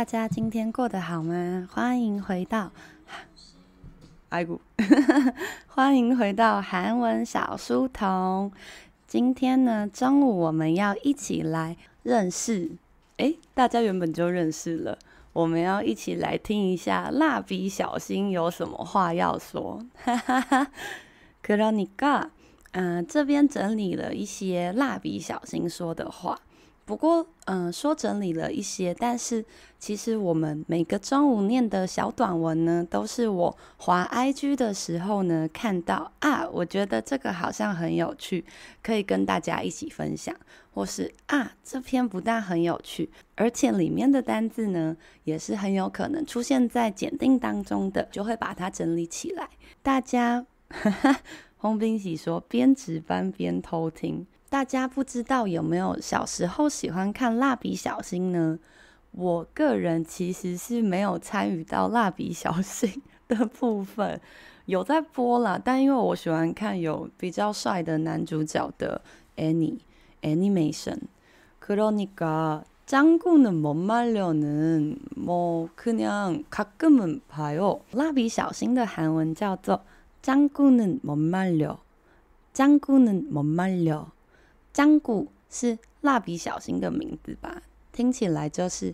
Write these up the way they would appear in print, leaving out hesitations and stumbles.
家今天過得好嗎？歡迎回到歡迎回到韓文小書童。今天呢，中午我們要一起來認識，大家原本就認識了，我們要一起來聽一下蠟筆小新有什麼話要說。그러니까這邊整理了一些蠟筆小新說的話。不過，說整理了一些，但是其實我們每個中午念的小短文呢，都是我滑 IG 的時候呢看到啊，我覺得這個好像很有趣，可以跟大家一起分享，或是啊，這篇不但很有趣，而且裡面的單字呢，也是很有可能出現在檢定當中的，就會把它整理起來。大家，洪彬喜說邊值班邊偷聽。大家不知道有沒有小時候喜歡看蠟筆小新呢？我個人其實是沒有參與到蠟筆小新的部分，有在播啦，但因為我喜歡看有比較帥的男主角的 애니메이션。그러니까 짱구는 못 말려는 뭐 그냥 가끔은 봐요。蠟筆小新的韓文叫做짱구는 못 말려。짱구는 못 말려。짱구是蠟筆小新的名字吧？聽起來就是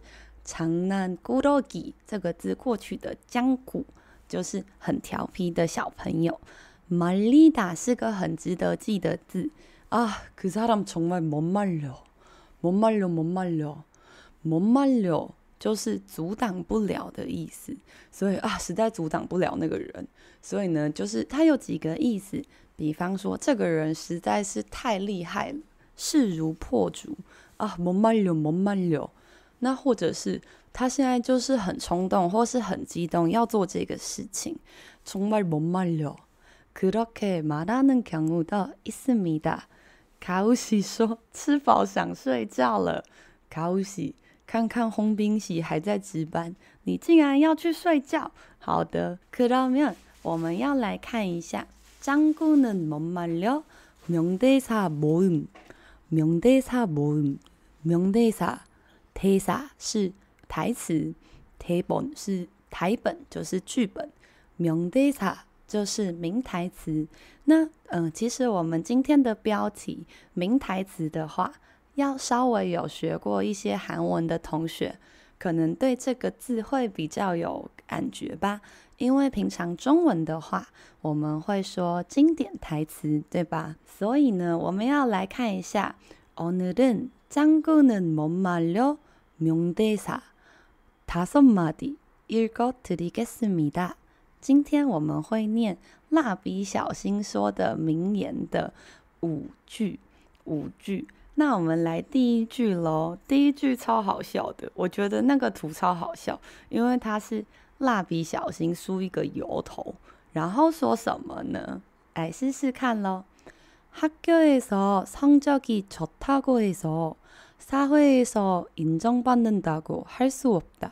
장난꾸러기這個字過去的짱구，就是很調皮的小朋友。말리다是個很值得記的字啊，그 사람 정말 못 말려，못 말려，못 말려，못 말려就是阻擋不了的意思，所以啊，實在阻擋不了那個人。所以呢，就是它有幾個意思，比方說這個人實在是太厲害了，勢如破竹啊，못 말려，못 말려。那或者是他現在就是很衝動或是很激動要做這個事情，정말 못 말려。그렇게 말하는 경우도 있습니다。가우씨說吃飽想睡覺了。가우씨看看洪彬喜還在值班，你竟然要去睡覺？好的，그러면我們要來看一下짱구는 못 말려 명대사 모음。명대사 모음， 명대사 대사是台詞，대본是台本，就是劇本，명대사就是名台詞。那其實我們今天的標題名台詞的話，要稍微有學過一些韓文的同學，可能對這個字會比較有感覺吧。因為平常中文的話，我們會說經典台詞，對吧？所以呢，我們要來看一下오늘은 짱구는 못 말려 명대사 5마디 읽어드리겠습니다。今天我們會念蠟筆小新說的名言的5句。那我們來第一句咯。第一句超好笑的，我覺得那個圖超好笑，因為它是蠟筆小新梳一個油頭，然後說什麼呢？來試試看咯。학교에서 성적이 좋다고 해서 사회에서 인정받는다고 할 수 없다.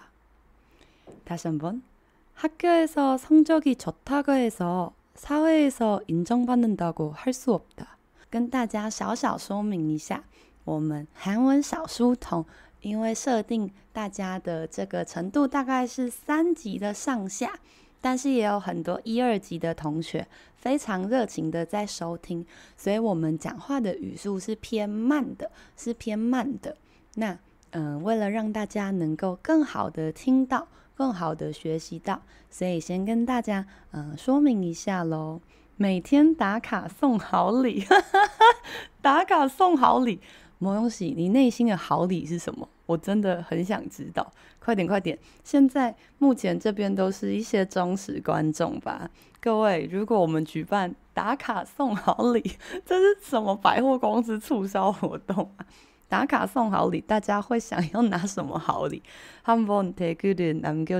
다시 한번. 학교에서 성적이 좋다고 해서 사회에서 인정받는다고 할 수 없다. 跟大家小小說明一下，我們韓文小書童因為設定大家的這個程度大概是3級的上下，但是也有很多1、2級的同學非常熱情的在收聽，所以我們講話的語速是偏慢的，那為了讓大家能夠更好的聽到，更好的學習到，所以先跟大家說明一下咯。每天打卡送好禮，打卡送好禮。某東西，你內心的好禮是什麼？我真的很想知道，快點！現在目前這邊都是一些忠實觀眾吧。各位，如果我們舉辦打卡送好禮，這是什麼百貨公司促銷活動啊？打卡送好禮，大家會想要拿什麼好禮？한번 댓글을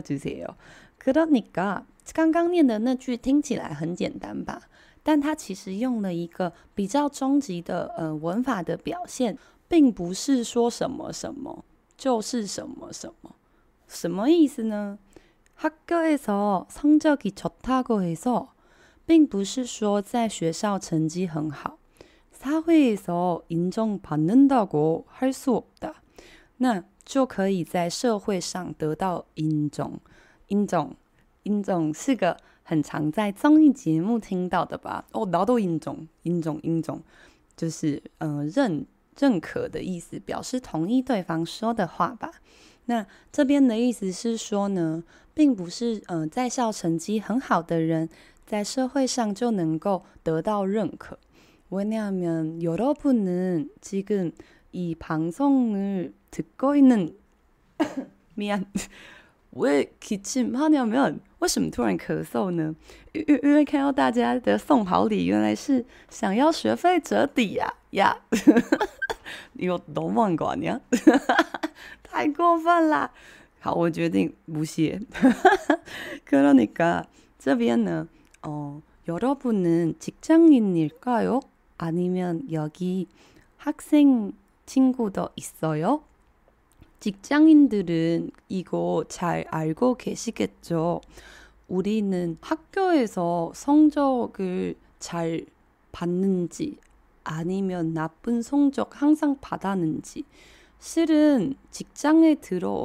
남겨주세요。그러니까剛剛念的那句聽起來很簡單吧？但它其實用了一個比較終極的文法的表現，並不是說什麼什麼就是什麼什麼。什麼意思呢？학교에서 성적이 좋다고 해서並不是說在學校成績很好。사회에서 인정받는다고 할 수 없다。那就可以在社會上得到인정。인정是個很常在綜藝節目聽到的吧？나도 인정，就是認可的意思，表示同意對方說的話吧。那這邊的意思是說呢，並不是在校成績很好的人在社會上就能夠得到認可。왜냐하면 여러분은 지금 이 방송을 듣고 있는 미안. 왜 기침하냐면 為什麼突然咳嗽呢？因為看到大家的送好禮，原來是想要學費折抵呀！有너무한 거 아니야？太過分啦！好，我決定不屑。그러니까這邊呢，여러분은 직장인일까요? 아니면 여기 학생 친구도 있어요? 직장인들은 이거 잘 알고 계시겠죠? 우리는 학교에서 성적을 잘 받는지 아니면 나쁜 성적 항상 받았는지 실은 직장에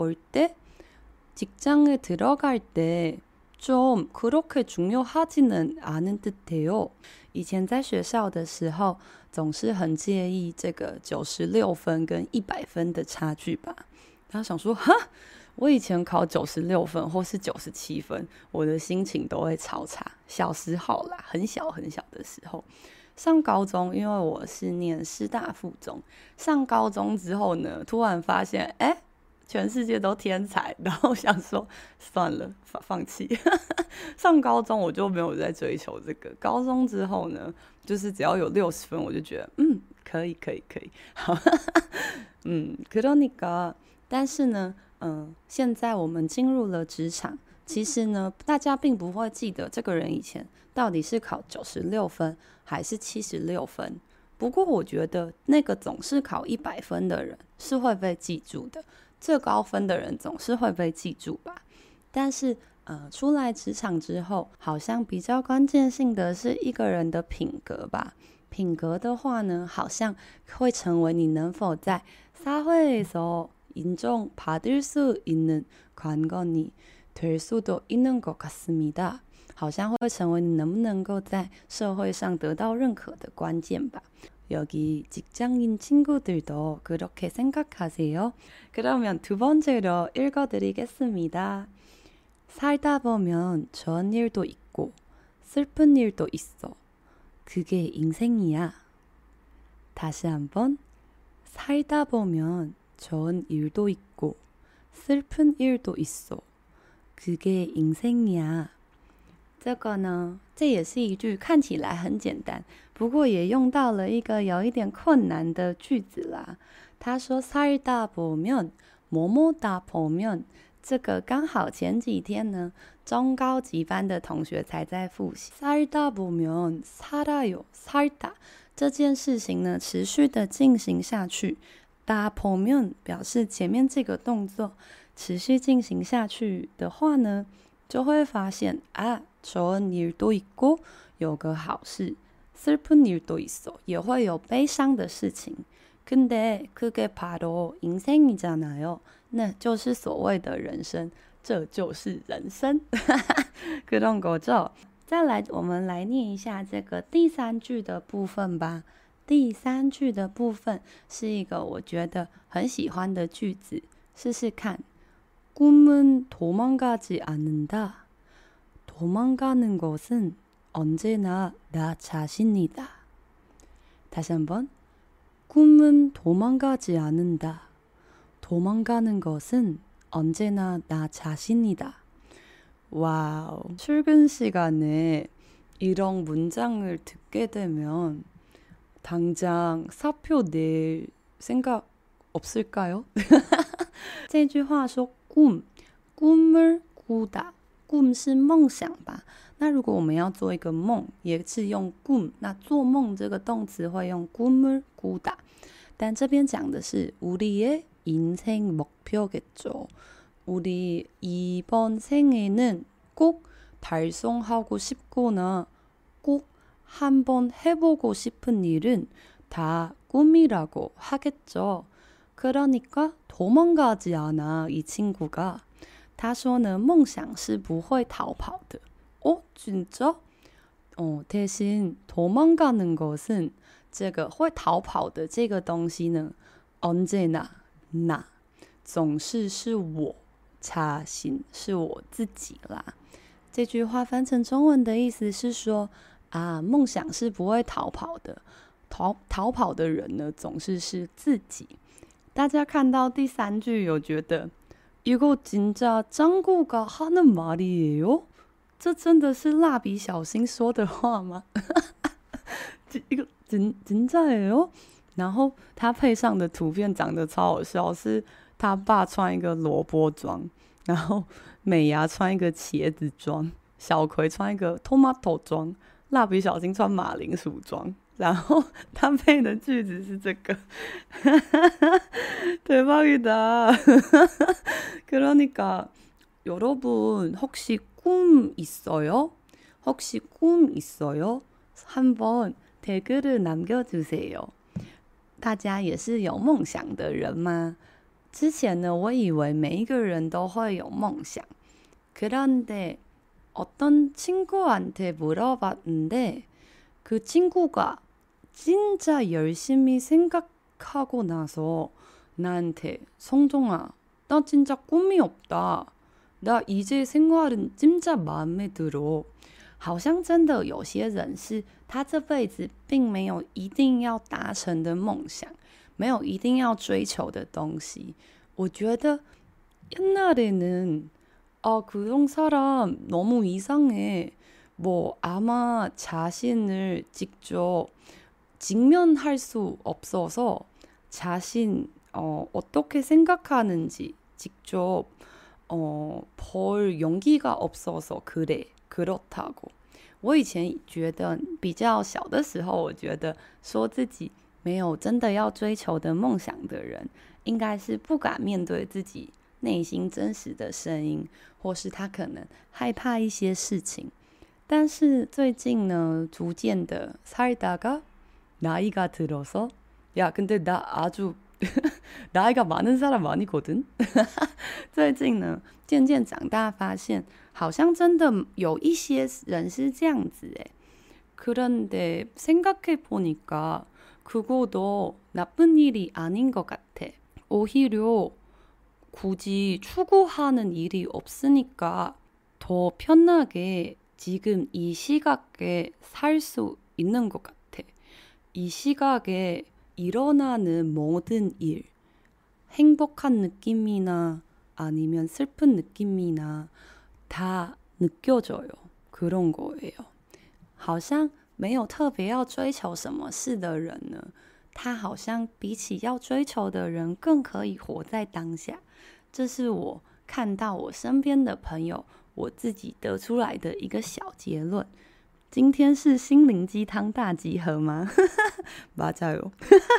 들어갈 때 좀 그렇게 중요하지는 않은 듯해요. 以前在學校的時候總是很介意這個96分跟100分的差距吧。他想說哈，我以前考96分或是97分，我的心情都會超差。小時候啦，很小的時候，上高中，因為我是念師大附中，上高中之後呢，突然發現，全世界都天才，然後想說算了，放棄。上高中我就沒有在追求這個，高中之後呢，就是只要有60分，我就覺得可以。好，그러니까但是呢，現在我們進入了職場，其實呢，大家並不會記得這個人以前到底是考96分還是76分。不過我覺得那個總是考100分的人是會被記住的，最高分的人總是會被記住吧。但是出來職場之後，好像比較關鍵性的是一個人的品格吧。品格的話呢，好像會成為你能否在사회에서 인정받을 수 있는 관건이 될 수도 있는 것 같습니다。好像会成為你能不能夠在社會上得到認可的關鍵吧。여기 직장인 친구들도 그렇게 생각하세요? 그러면 두 번째로 읽어드리겠습니다. 살다 보면 좋은 일도 있고 슬픈 일도 있어. 그게 인생이야. 다시 한번. 살다 보면 좋은 일도 있고 슬픈 일도 있어. 그게 인생이야. 這個呢，這也是一句看起來很簡單，不過也用到了一個有一點困難的句子啦。他說살다 보면 뭐뭐다 보면，這個剛好前幾天呢，中高級班的同學才在複習。살다 보면 살아요，살다這件事情呢，持續的進行下去。다 보면表示前面這個動作持續進行下去的話呢，就會發現좋은 일도 있고有個好事，슬픈 일도 있어也會有悲傷的事情。근데 그게 바로 인생이잖아요，那就是所謂的人生，這就是人生。그런 거죠。再來，我們來念一下這個第三句的部分吧。第三句的部分是一個我覺得很喜歡的句子，試試看。꿈은 도망가지 않는다. 도망가는 것은 언제나 나 자신이다. 다시 한번. 꿈은 도망가지 않는다. 도망가는 것은 언제나 나 자신이다. 와우. 출근 시간에 이런 문장을 듣게 되면 당장 사표 낼 생각 없을까요? 這句話說꿈을 꾸다， 꿈是夢想吧？那如果我們要做一個夢，也是用꿈，那做夢這個動詞會用꿈을 꾸다。但這邊講的是우리의 인생 목표겠죠。 우리 이번 생에는 꼭 달성하고 싶거나 꼭 한번 해보고 싶은 일은 다 꿈이라고 하겠죠。 그러니까 도망가지 않아 이 친구가.他說呢，夢想是不會逃跑的。진짜？대신 도망가는 것은這個會逃跑的這個東西呢，언제나 나總是是我자신是我自己啦。這句話翻成中文的意思是說啊，夢想是不會逃跑的，逃跑的人呢總是是自己。大家看到第三句有覺得이거 진짜 짱구가 하는 말이에요？這真的是蠟筆小新說的話嗎？이거 진짜예요？然後他配上的圖片長得超好笑，是他爸穿一個蘿蔔裝，然後美伢穿一個茄子裝，小葵穿一個 tomato 裝，蠟筆小新穿馬鈴薯裝，然後他配的句子是這個대박이다 그러니까 여러분 혹시 꿈 있어요? 혹시 꿈 있어요? 한번 댓글을 남겨주세요. 大家也是有夢想的人嗎？之前呢，我以為每一個人都會有夢想。그런데 어떤 친구한테 물어봤는데 그 친구가 진짜 열심히 생각하고 나서 나한테 성종아, 나 진짜 꿈이 없다. 나 이제 생활은 진짜 마음에 들어. 好像真的有些人是他這輩子並沒有一定要達成的夢想，沒有一定要追求的東西。我覺得옛날에는 그런 사람 너무 이상해. 뭐 아마 자신을 직접 직면할 수 없어서 자신 어떻게 생각하는지 직접 볼 용기가 없어서 그렇다고。 我以前覺得比較小的時候，我覺得說自己沒有真的要追求的夢想的人，應該是不敢面對自己內心真實的聲音，或是他可能害怕一些事情。但是最近呢，逐漸的살다가 나이가 들어서 야 근데 나 아주 나이가 많은 사람 아니거든 最近呢漸漸長大發現好像真的有一些人是這樣子誒。그런데 생각해보니까 그거도 나쁜 일이 아닌 것 같아. 오히려 굳이 추구하는 일이 없으니까 더 편하게 지금 이 시각에 살 수 있는 것 같아. 이 시각에 일어나는 모든 일, 행복한 느낌이나 아니면 슬픈 느낌이나 다 느껴져요. 그런 거예요. 好像沒有特別要追求什麼事的人呢，他好像比起要追求的人更可以活在當下。這是我看到我身邊的朋友，我自己得出來的一個小結論。今天是心靈雞湯大集合嗎？맞아요.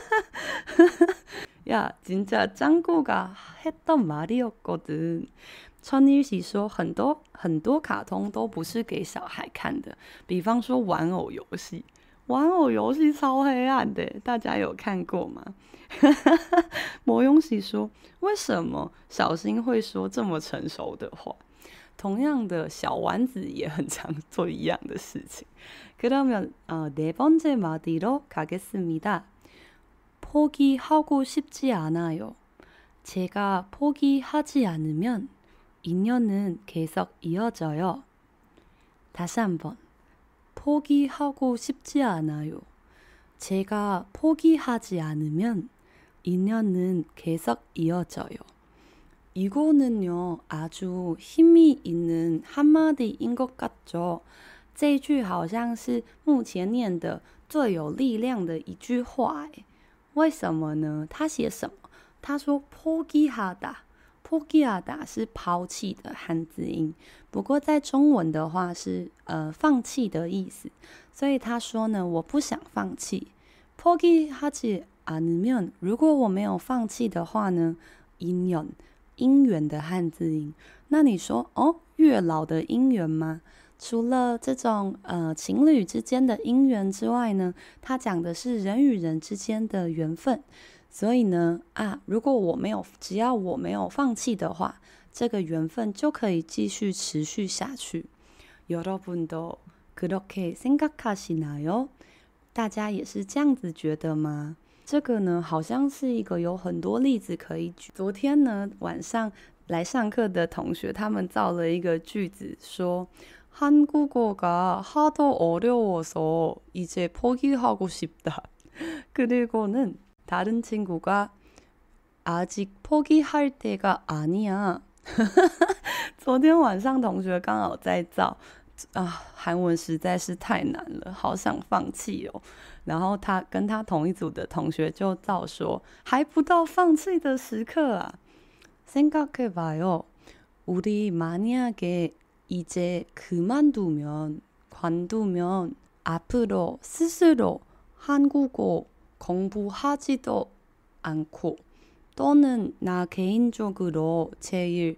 야, 진짜 짱구가 했던 말이었거든. 천일喜說很多卡通都不是給小孩看的，比方說玩偶遊戲。玩偶遊戲超黑暗的，大家有看過嗎？魔勇喜說，為什麼小新會說這麼成熟的話？同樣的，小丸子也很常做一樣的事情。그러면 네 번째 마디로 가겠습니다. 포기하고 싶지 않아요. 제가 포기하지 않으면 인연은 계속 이어져요. 다시 한번. 포기하고 싶지 않아요. 제가 포기하지 않으면 인연은 계속 이어져요. 이거는요, 아주 힘이 있는 한마디인 것 같죠? 這一句好像是目前念的最有力量的一句話。為什麼呢？他寫什麼？他說포기하다，포기하다是拋棄的漢字音，不過在中文的話是放棄的意思，所以他說呢，我不想放棄。포기하지 않으면，如果我沒有放棄的話呢，인연姻緣的漢字音。那你說月老的姻緣嗎？除了這種情侶之間的姻緣之外呢，它講的是人與人之間的緣分。 所以呢，如果只要我沒有放棄的話，這個緣分就可以繼續持續下去。여러분도 그렇게 생각하시나요？大家也是這樣子覺得嗎？這個呢，好像是一個有很多例子可以舉。昨天呢，晚上來上課的同學，他們造了一個句子，說한국어가 하도 어려워서 이제 포기하고 싶다. 그리고는 다른 친구가 아직 포기할 때가 아니야. 昨天晚上同學剛好在造韓文實在是太難了，好想放棄哦。然後他跟他同一組的同學就造說，還不到放棄的時刻啊。생각해봐요. 우리 만약에 이제 관두면 앞으로 스스로 한국어 공부하지도 않고 또는 나 개인적으로 제일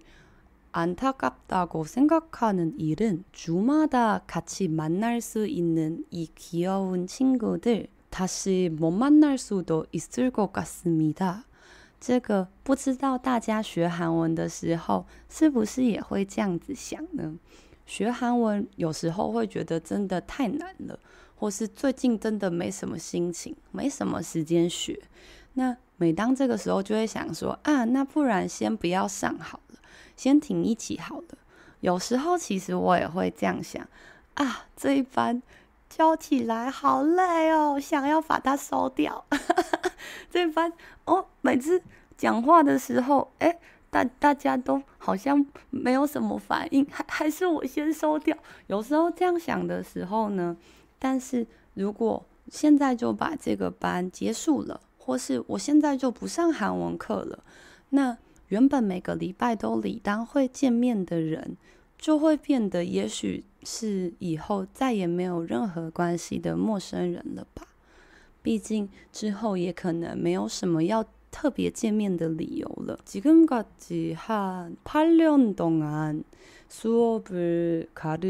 안타깝다고 생각하는 일은 주마다 같이 만날 수 있는 이 귀여운 친구들 다시 못 만날 수도 있을 것 같습니다. 這個不知道大家學韓文的時候是不是也會這樣子想呢？學韓文有時候會覺得真的太難了，或是最近真的沒什麼心情，沒什麼時間學。那每當這個時候就會想說那不然先不要上好了，先停一期好了。有時候其實我也會這樣想這一班教起來好累哦，想要把它收掉。這一班每次講話的時候大家都好像沒有什麼反應，還是我先收掉。有時候這樣想的時候呢，但是如果現在就把這個班結束了，或是我現在就不上韓文課了，那原本每個禮拜都理當會見面的人，就會變得也許是以後再也沒有任何關係的陌生人了吧。畢竟之後也可能沒有什麼要特別見面的理由了。지금까지 한 8년 동안 수업을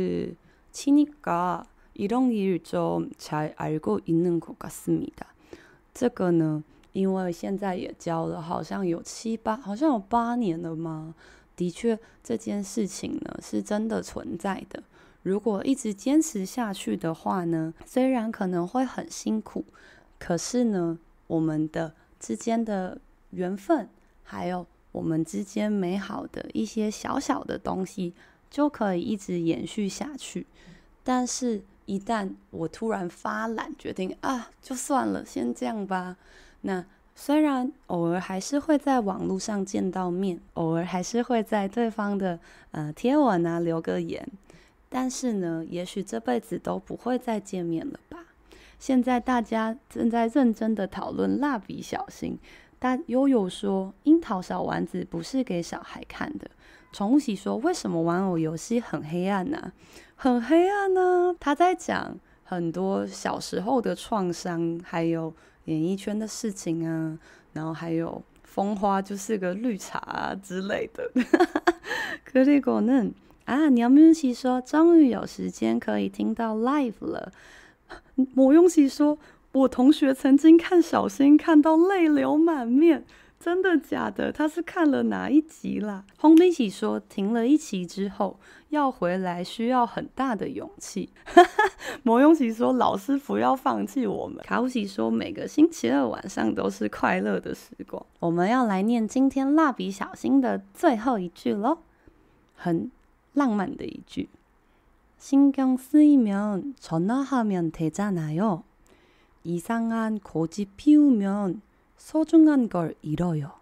가르치니까 이런 일 좀 잘 알고 있는 것 같습니다. 這個呢，因為現在也教了好像有8年了嗎？的確這件事情呢是真的存在的。如果一直堅持下去的話呢，雖然可能會很辛苦，可是呢我們的之間的緣分，還有我們之間美好的一些小小的東西，就可以一直延續下去。但是一旦我突然發懶，決定就算了，先這樣吧。那雖然偶爾還是會在網絡上見到面，偶爾還是會在對方的貼文留個言，但是呢，也許這輩子都不會再見面了吧。現在大家正在認真的討論蠟筆小新。悠悠說，櫻桃小丸子不是給小孩看的。寵物喜說，為什麼玩偶遊戲很黑暗呢？很黑暗呢？他在講很多小時候的創傷，還有演藝圈的事情啊，然後還有風花就是個綠茶之類的。그리고는 녀문씨說，終於有時間可以聽到 live 了。某用喜說，我同學曾經看小新看到淚流滿面，真的假的？他是看了哪一集啦？홍빈喜說，停了一期之後要回來需要很大的勇氣。某用喜說，老師不要放棄我們。卡烏喜說，每個星期二晚上都是快樂的時光。我們要來念今天蠟筆小新的最後一句咯，很浪漫的一句。신경 쓰이면 전화하면 되잖아요. 이상한 고집 피우면 소중한 걸 잃어요.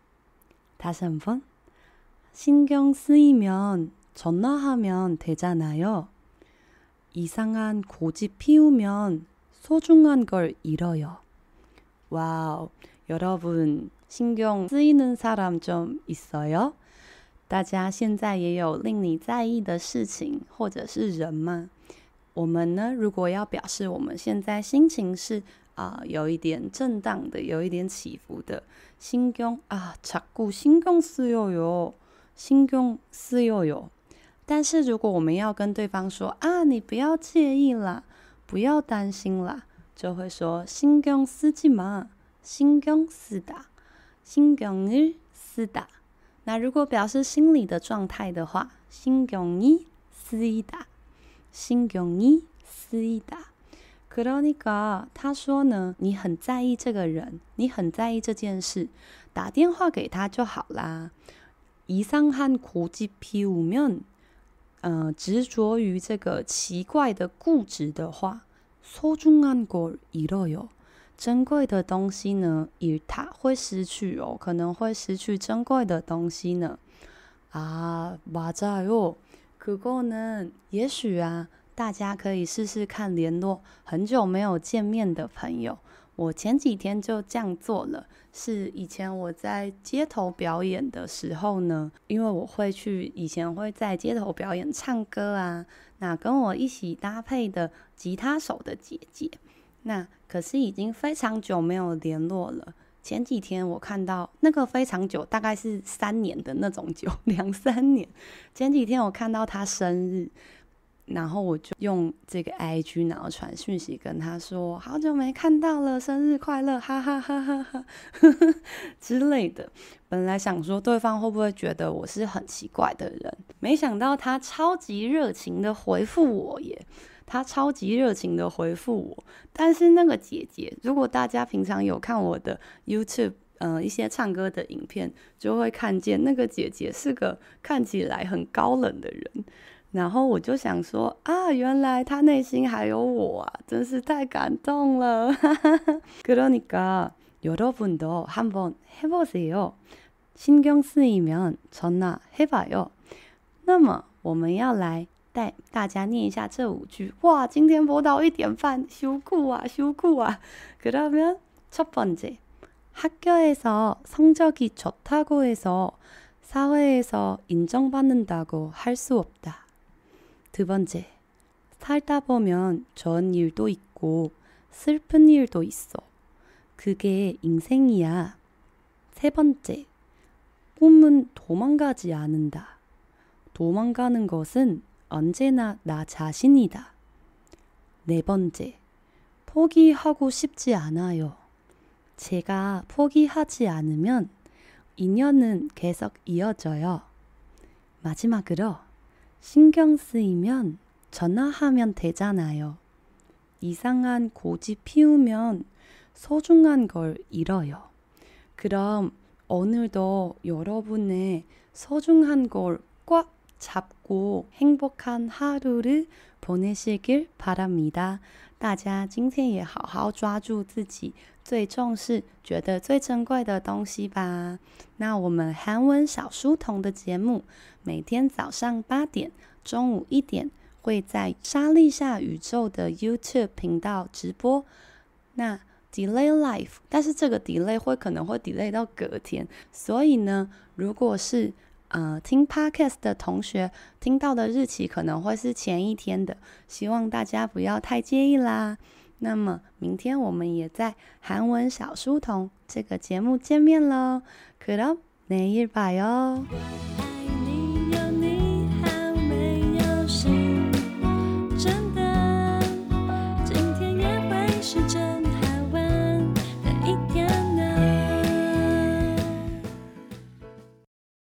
다시 한번. 신경 쓰이면 전화하면 되잖아요. 이상한 고집 피우면 소중한 걸 잃어요. 와우, 여러분 신경 쓰이는 사람 좀 있어요? 大家現在也有令你在意的事情或者是人嗎？我們呢，如果要表示我們現在心情是有一點震盪的，有一點起伏的，신경 자꾸 신경 쓰여요，신경 쓰여요。但是如果我們要跟對方說你不要介意啦，不要擔心啦，就會說신경 쓰지 마， 신경 쓰다， 신경을 쓰다。那如果表示心理的状態的話，신경이 쓰이다， 신경이 쓰이다。그러니까他說呢，你很在意這個人，你很在意這件事，打電話給他就好啦。이상한 고집 피우면，執着於這個奇怪的固執的話，소중한 걸 잃어요。珍貴的東西呢，잃다會失去哦，可能會失去珍貴的東西呢。맞아요。그거는也許啊，大家可以試試看聯絡很久沒有見面的朋友。我前幾天就這樣做了，是以前我在街頭表演的時候呢，因為我以前會在街頭表演唱歌啊，那跟我一起搭配的吉他手的姐姐，那可是已經非常久沒有聯絡了。前幾天我看到那個非常久，大概是3年的那種久，2-3年。前幾天我看到他生日，然後我就用這個 IG 然後傳訊息跟他說，好久沒看到了，生日快樂，哈哈哈哈哈之類的。本來想說對方會不會覺得我是很奇怪的人，沒想到他超級熱情的回復我耶，他超級熱情的回復我。但是那個姐姐，如果大家平常有看我的 YouTube，一些唱歌的影片，就會看見那個姐姐是個看起來很高冷的人。然後我就想說啊，原來他內心還有我啊，真是太感動了。그러니까 여러분도 한번 해보세요. 신경 쓰이면 전화해봐요. 那麼我們要來帶大家念一下這5句。哇，今天播到1點半，羞酷啊，羞酷啊。그러면 첫 번째, 학교에서 성적이 좋다고 해서 사회에서 인정받는다고 할 수 없다. 두 번째, 살다 보면 좋은 일도 있고 슬픈 일도 있어. 그게 인생이야. 세 번째, 꿈은 도망가지 않는다. 도망가는 것은 언제나 나 자신이다. 네 번째, 포기하고 싶지 않아요. 제가 포기하지 않으면 인연은 계속 이어져요. 마지막으로 신경 쓰이면 전화하면 되잖아요. 이상한 고집 피우면 소중한 걸 잃어요. 그럼 오늘도 여러분의 소중한 걸 꽉 잡고 행복한 하루를 보내시길 바랍니다. 大家今天也好好抓住自己最重視、覺得最珍貴的東西吧。那我們韓文小書童的節目，每天早上8點、中午1點會在莎莉夏宇宙的 YouTube 頻道直播。那 Delay Live， 但是這個 delay 可能會 delay 到隔天，所以呢，如果是聽 Podcast 的同學聽到的日期可能會是前一天的，希望大家不要太介意啦。那麼明天我們也在韓文小書童這個節目見面咯。그럼 내일 봐요。